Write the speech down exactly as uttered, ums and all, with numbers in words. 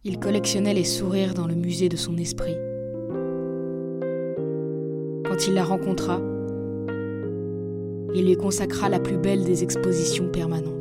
Il collectionnait les sourires dans le musée de son esprit. Quand il la rencontra, il lui consacra la plus belle des expositions permanentes.